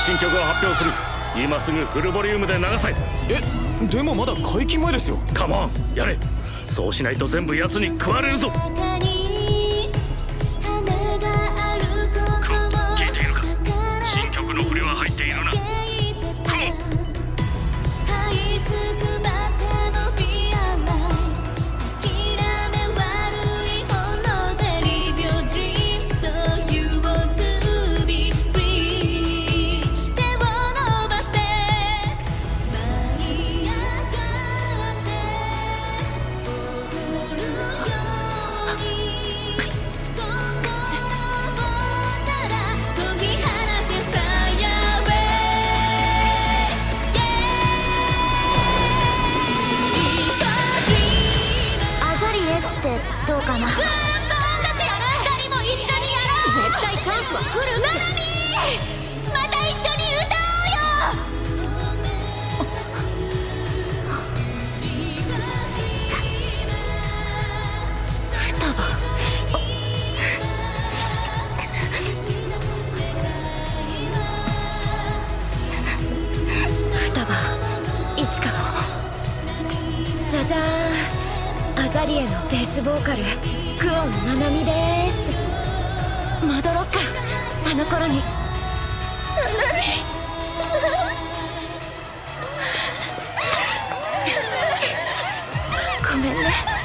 新曲を発表する。今すぐフルボリュームで流せ。 でもまだ解禁前ですよ。 カモンやれ。そうしないと全部奴に食われるぞ。聞いているか。新曲の振りは入っているな。カモン。 どうかな。ずーっと音楽やる。二人も一緒にやろう。絶対チャンスは来るって。ナナミー、また一緒に歌おうよ。双葉。双葉、いつかの。じゃじゃーん。アザリエのベースボーカルクオンナナミです。戻ろっか、あの頃に。ナナミごめんね。